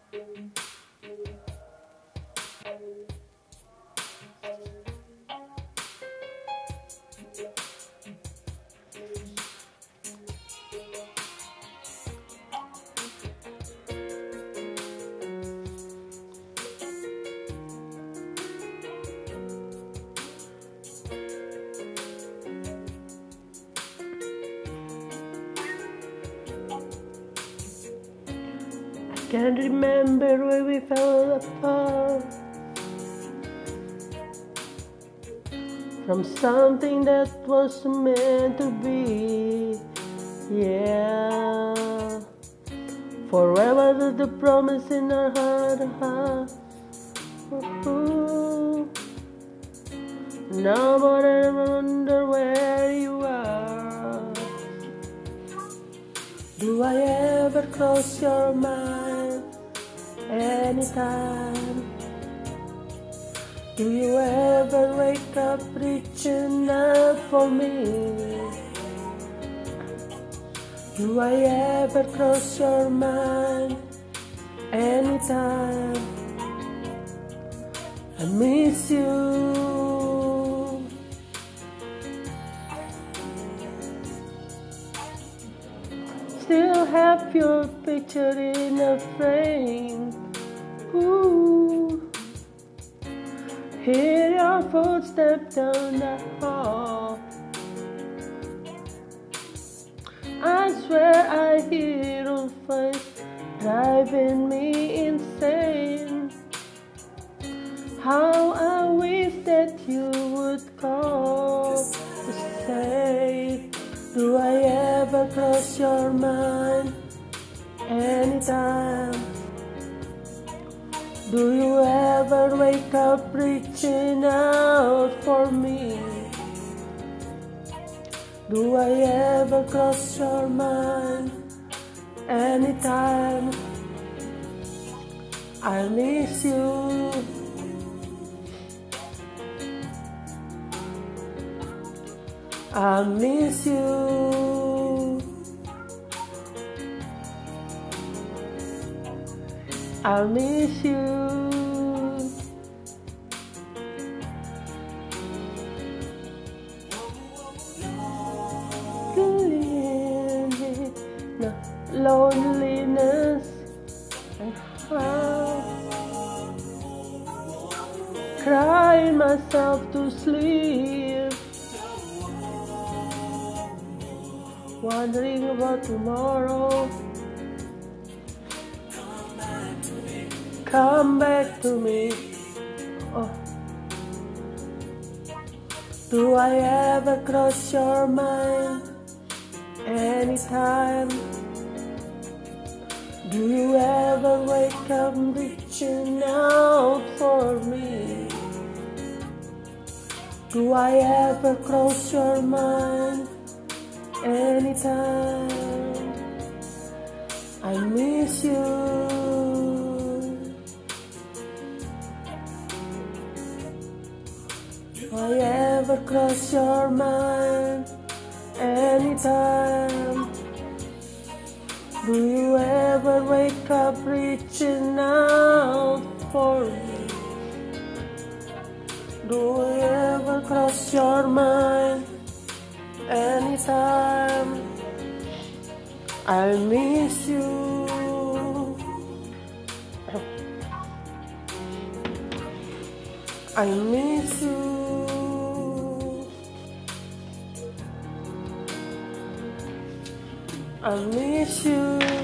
Can't remember where we fell apart from something that was meant to be. Yeah, forever the promise in our heart. Ooh. Now but I wonder where you are. Do I ever cross your mind anytime? Do you ever wake up reaching out for me? Do I ever cross your mind anytime? I miss you. Still have your picture in a frame. Ooh. Hear your footsteps down the hall. I swear I hear your voice driving me insane. How I wish that you would call to say, do I ever cross your mind anytime? Do you ever wake up reaching out for me? Do I ever cross your mind anytime? I miss you. I miss you. I miss you. Loneliness and how crying myself to sleep, wondering about tomorrow. Come back to me. Oh. Do I ever cross your mind anytime? Do you ever wake up reaching out for me? Do I ever cross your mind anytime? I miss you. Do I ever cross your mind anytime? Do you ever wake up reaching out for me? Do you ever cross your mind anytime? I miss you. I miss you. I miss you.